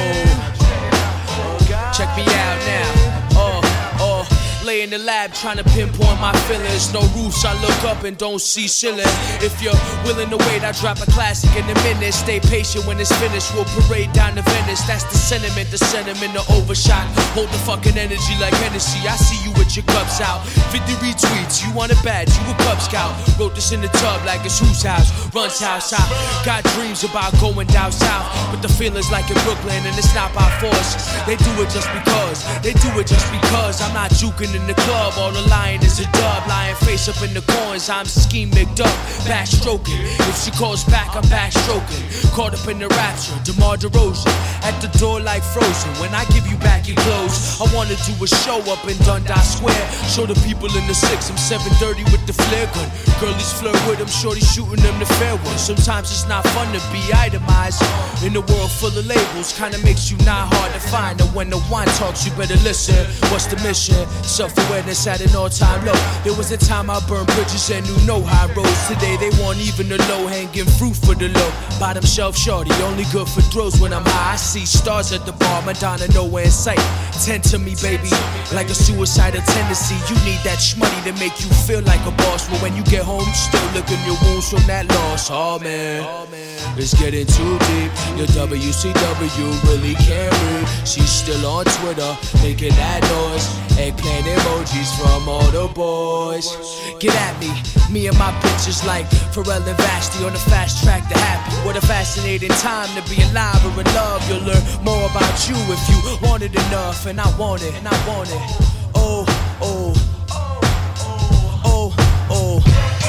oh. Check me out now. Oh, oh. Lay in the lab trying to pinpoint my feelings. No roofs, I look up and don't see ceiling. If you're willing to wait, I drop a classic in a minute. Stay patient when it's finished, we'll parade down to Venice. That's the sentiment, the sentiment, the overshot. Hold the fucking energy like Hennessy. I see you with your cups out. fifty retweets, you want a badge, you a Cub Scout. Wrote this in the tub like it's whose house, Run's house. I got dreams about going down south, but the feeling's like in Brooklyn and it's not by force. They do it just because, they do it just because. I'm not juking in the club, all the lying is a dub. Lying face up in the coins, I'm scheming up, backstroking. If she calls back, I'm backstroking. Caught up in the rapture, DeMar DeRozan at the door like Frozen. When I give you back your clothes, I wanna do a show up in Dundas Square. Show the people in the six, I'm seven thirty with the flare gun. Girlies flirt with them, shorty shooting them the fair ones. Sometimes it's not fun to be itemized in a world full of labels. Kinda makes you not hard to find. And when the wine talks, you better listen. What's the mission? Self-awareness at an all-time low. There was a time I burned bridges and knew no high roads. Today they want even the low-hanging fruit for the low. Bottom shelf shorty, only good for throws when I'm high. I see stars at the bar, Madonna nowhere in sight. Tend to me, baby, like a suicidal tendency. You need that shmoney to make you feel like a boss. But when you get home, you still licking your wounds from that loss. Oh man, it's getting too deep. Your W C W really can't read. She's still on Twitter, making that noise. Eggplant emojis from all the boys. Get at me, me and my bitches like Pharrell and Vashti on the fast track to happy. What a fascinating time to be alive or in love. You'll learn more about you if you want it enough. And I want it, and I want it. Oh, oh, oh, oh, oh.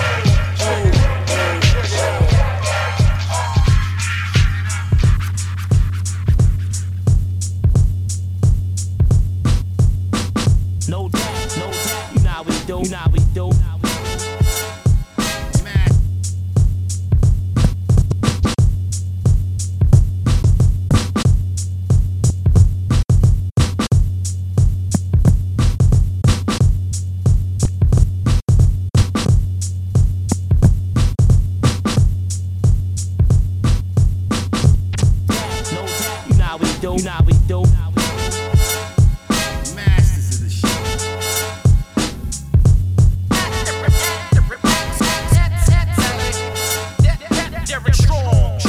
No doubt, no doubt, you know how we do, you know how we do. You know how we do. Masters of the shit. Derek Strong.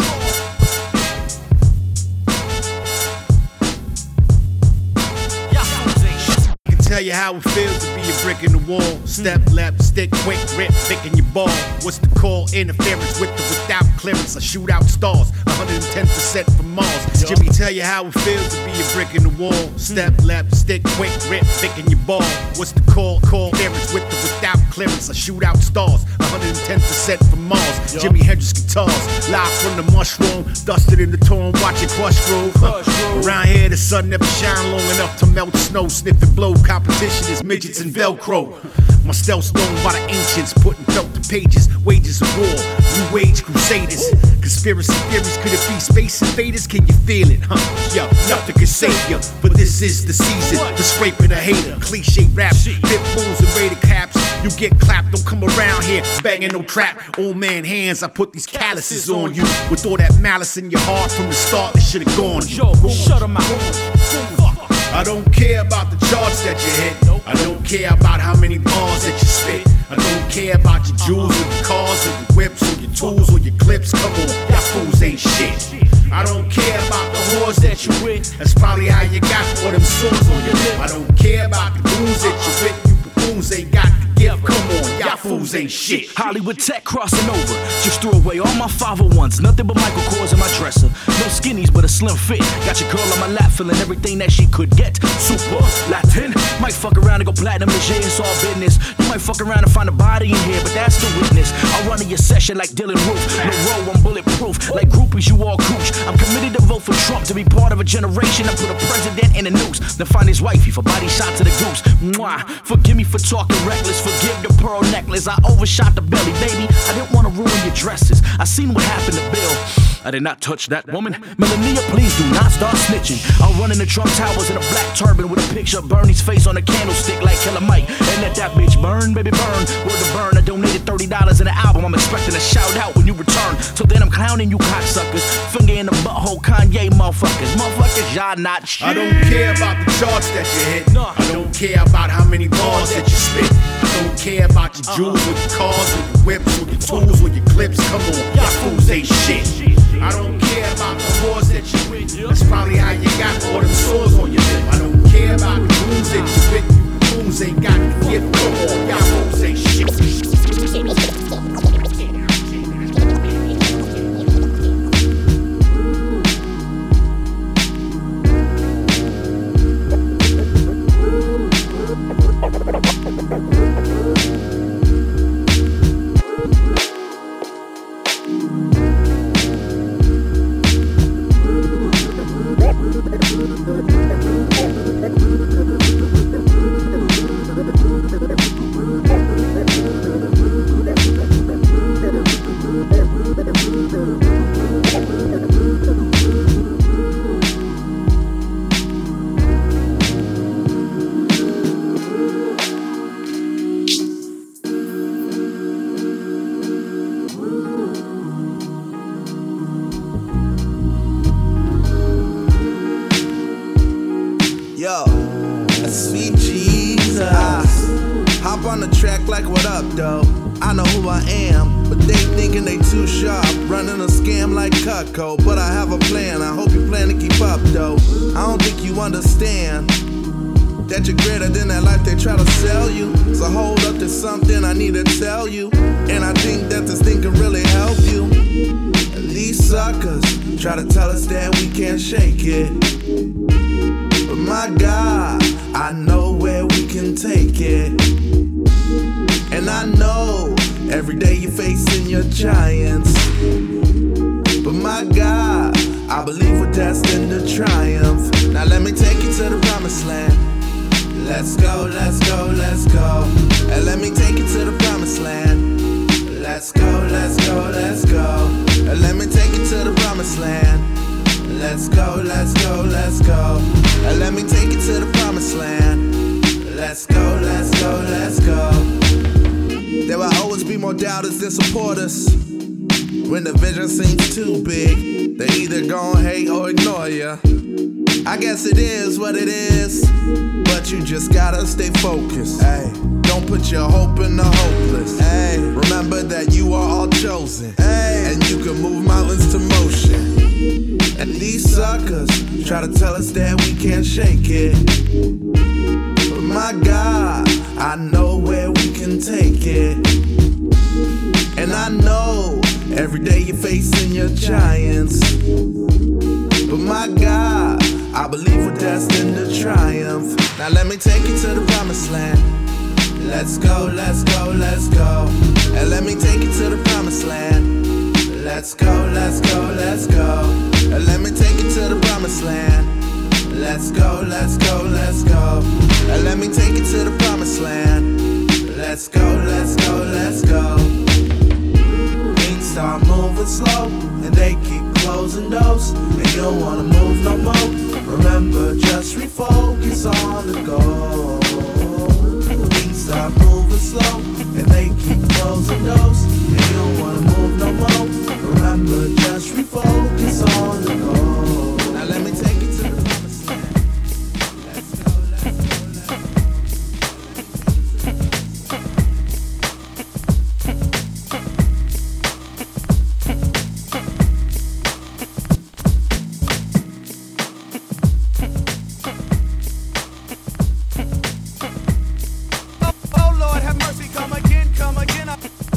I can tell you how it feels to be a brick in the wall. Step left, stick quick, rip, thick in your ball. What's the call? Interference with or without clearance. I shoot out stars, one hundred ten percent from Mars. Jimmy, tell you how it feels to be a brick in the wall. Step left, stick quick, rip, thick in your ball. What's the call? Call interference with or without clearance. I shoot out stars, one hundred ten percent from Mars. Jimi Hendrix guitars, live from the mushroom, dusted in the torn, watching Crush Groove. Huh. Around here, the sun never shine long enough to melt snow. Sniff and blow, competition is midgets and Velcro. My stealth's known by the ancients, putting felt to pages, wages of war, new age crusaders. Conspiracy theories, could it be space invaders? Can you feel it, huh? Yo, nothing can save ya, but this is the season for scraping a hater. Cliche raps, pit bulls and rated caps. You get clapped, don't come around here banging no trap. Old man hands, I put these calluses on you. With all that malice in your heart from the start, it should've gone. Yo, shut 'em out. I don't care about the charts that you hit. I don't care about how many bars that you spit. I don't care about your jewels or your cars or your whips or your tools or your clips. Come on, y'all fools ain't shit. I don't care about the whores that you with. That's probably how you got all them sores on your lip. I don't care about the goons that you with. You buffoons ain't got the gift. Come on, y'all fools ain't shit. Hollywood Tech crossing over. Just threw away all my five oh ones. Nothing but Michael Kors in my dresser. No skinnies, but a slim fit. Got your girl on my lap, feeling everything that she could get. Super Latin. Might fuck around and go platinum and shit, it's all business. You might fuck around and find a body in here, but that's the witness. I'll run in your session like Dylan Roof. No row, I'm bulletproof. Like groupies, you all cooch. I'm committed to vote for Trump, to be part of a generation. I put a president in a noose. Then find his wifey for body shot to the goose. Mwah. Forgive me for talking reckless. Forgive the pearl necklace. I overshot the belly, baby. I didn't want to ruin your dresses. I seen what happened to Bill. I did not touch that woman. Melania, please do not start snitching. I'll run in the Trump Towers in a black turban with a picture of Bernie's face on a candlestick like Killer Mike. And let that bitch burn, baby, burn. Word to burn, I donated thirty dollars in an album. I'm expecting a shout out when you return. So then I'm clowning you cocksuckers. Finger in the butthole, Kanye motherfuckers. Motherfuckers, y'all not shit. I don't care about the charts that you hit. I don't care about how many bars that you spit. I don't care about your jewels or your cars or your whips or your tools or your clips. Come on, y'all fools ain't shit. I don't care about the wars that you with. That's probably how you got all them sores on your lip. I don't care about the goons that you with. You fools ain't got the gift. Come on, y'all fools ain't shit. Yo, sweet Jesus. Hop on the track like what up, though? I know who I am, but they thinking they too sharp. Running a scam like Cutco, but I have a plan. I hope you plan to keep up, though. I don't think you understand that you're greater than that life they try to sell you. So hold up to something I need to tell you, and I think that this thing can really help you. These suckers try to tell us that we can't shake it, but my God, I know where we can take it. And I know every day you're facing your giants, but my God, I believe we're destined to triumph. Now let me take you to the promised land. Let's go, let's go, let's go. And let me take you to the promised land. Let's go, let's go, let's go. And let me take you to the promised land. Let's go, let's go, let's go. And let me take you to the promised land. Let's go, let's go, let's go. There will always be more doubters than supporters. When the vision seems too big, they either gon' hate or ignore ya. I guess it is what it is, but you just gotta stay focused. Ay, don't put your hope in the hopeless. Ay, remember that you are all chosen. Ay, and you can move mountains to motion. And these suckers try to tell us that we can't shake it, but my God, I know where we can take it. And I know every day you're facing your giants, but my God, I believe we're destined to triumph. Now let me take you to the promised land. Let's go, let's go, let's go. And let me take you to the promised land. Let's go, let's go, let's go. And let me take you to the promised land. Let's go, let's go, let's go. And let me take you to the promised land. Let's Let's go, let's go, let's go. Things start moving slow, and they keep closing doors, and you don't wanna move no more. Remember, just refocus on the goal. Things start moving slow, and they keep closing doors, and you don't wanna move no more. Remember, just refocus on the goal. Now let me take you to the promised land. Let's go, let's go, let's go. Oh Lord, have mercy, come again, come again.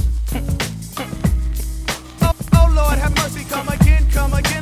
Oh, oh Lord, have mercy, come again, come again.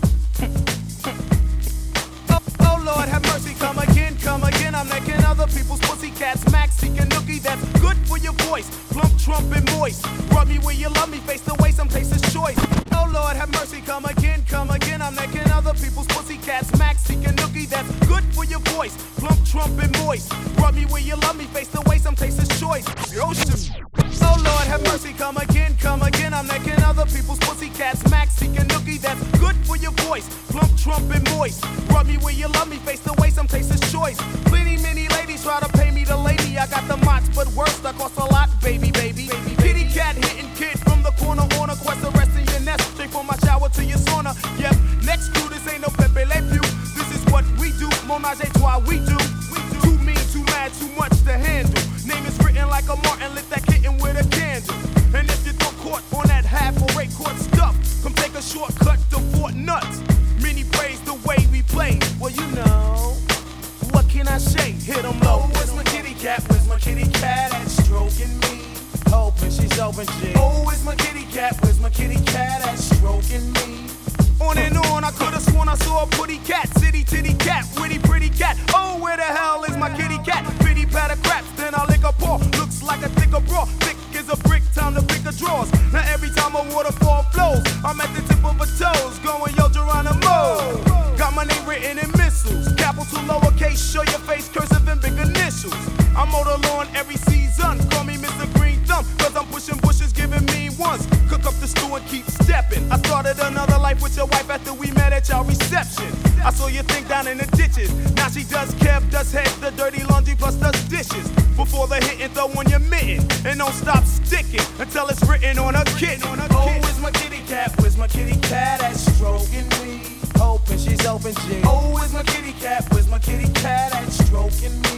Oh, oh Lord, have mercy, come again, come again. I'm necking other people's pussycats, max seeking nookie that's good for your voice. Plump, trump, and moist. Rub me where you love me, face the way some taste is choice. Oh Lord, have mercy, come again, come again. I'm necking other people's pussycats, max seeking nookie that's good for your voice. Plump, trump, and moist. Rub me where you love me, face the way some taste is choice. Oh shit. Oh Lord, have mercy, come again, come again. I'm necking other people's pussycats, max seeking nookie that's good for your voice. Plump, trump, and moist. Rub me where you love me, face the way some taste is choice. Plenty, many ladies try to pay me to lady. I got the mots, but worse, that cost a lot, baby, baby. Kitty cat hitting kid from the corner on a quest of rest in your nest. Straight from my shower to your sauna. Yep, next to this ain't no Pepe Le Pew. This is what we do, Monage a trois, we do. Too mean, too mad, too much to handle. Name is written like a Martin, lit that kitten with a candle. And if you throw caught on that half or rate court stuff, come take a shortcut to Fort Nuts. Many praise the way we play. Well, you know, what can I say? Hit 'em low. Where's my kitty cat? Where's my kitty cat at stroking me? Hoping she's open, G. Oh, where's my kitty cat? Where's my kitty cat at stroking me? On and on, I could've sworn I saw a pretty cat, city titty cat, witty pretty cat. Oh, where the hell is my kitty cat? Pity pat of craps, then I lick a paw. Looks like a thicker bra, thick as a brick, time to pick a drawers. Now every time a waterfall flows, I'm at the tip of her toes, going yo Geronimo. Got my name written in missiles, capital lowercase, show your face, cursive and big initials. I mow the lawn every season, call me Mister Green Thumb, cause I'm pushing bushes, giving me ones. Cook up the stew and keep stepping. I started another life with your wife after we met at y'all reception. I saw your thing down in the ditches. Now she does Kev, does head, the dirty laundry plus does dishes. Before the hitting, throw on your mitten. And don't stop sticking until it's written on her kitten. Oh, where's my kitty cat? Where's my kitty cat that's stroking me? Hoping she's open, G. Oh, where's my kitty cat? Where's my kitty cat that's stroking me?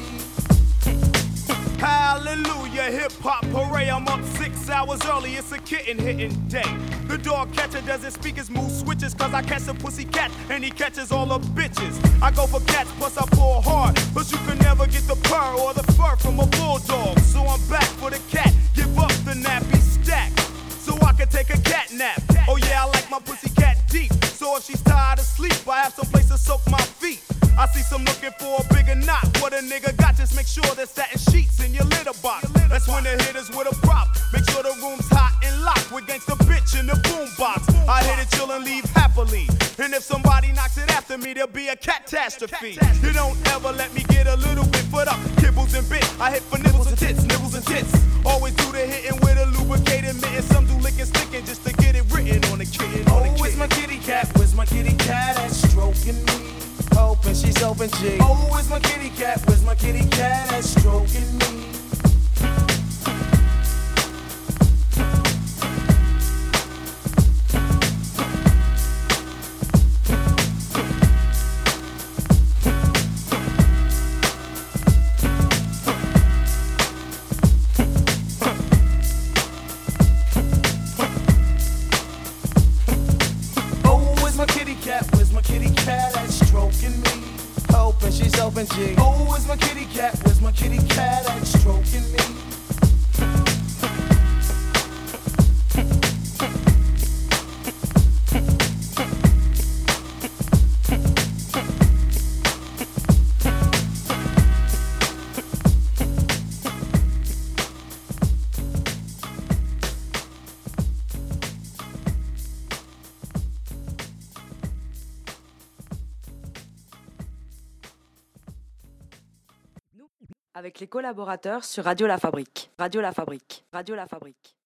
Hallelujah, hip hop hooray. I'm up six hours early, it's a kitten hitting day. The dog catcher doesn't speak his mood switches, cause I catch a pussy cat and he catches all the bitches. I go for cats, plus I pull hard, but you can never get the purr or the fur from a bulldog. So I'm back for the cat, give up the nappy stack, so I can take a cat nap. Oh yeah, I like my pussy cat deep, so if she's tired of sleep, I have some place to soak my feet. I see some looking for a bigger knot. What a nigga got, just make sure there's satin sheets in your litter box. That's when the hitters with a prop. Make sure the room's hot and locked with gangsta bitch in the boombox. I hit it, chill and leave happily. And if somebody knocks it after me, there'll be a catastrophe. You don't ever let me get a little bit foot up. Kibbles and bit, I hit for nibbles and tits, nibbles and tits. Always do the hitting with a lubricated mitten. Some do licking, sticking just to get it written on the kitten. Oh, where's my kitty cat? Where's my kitty cat that's stroking me? Hoping she's open, G. Oh, where's my kitty cat? Where's my kitty cat that's stroking me? Open G. Oh, where's my kitty cat? Where's my kitty cat that's stroking me? avec les collaborateurs sur Radio La Fabrique. Radio La Fabrique. Radio La Fabrique.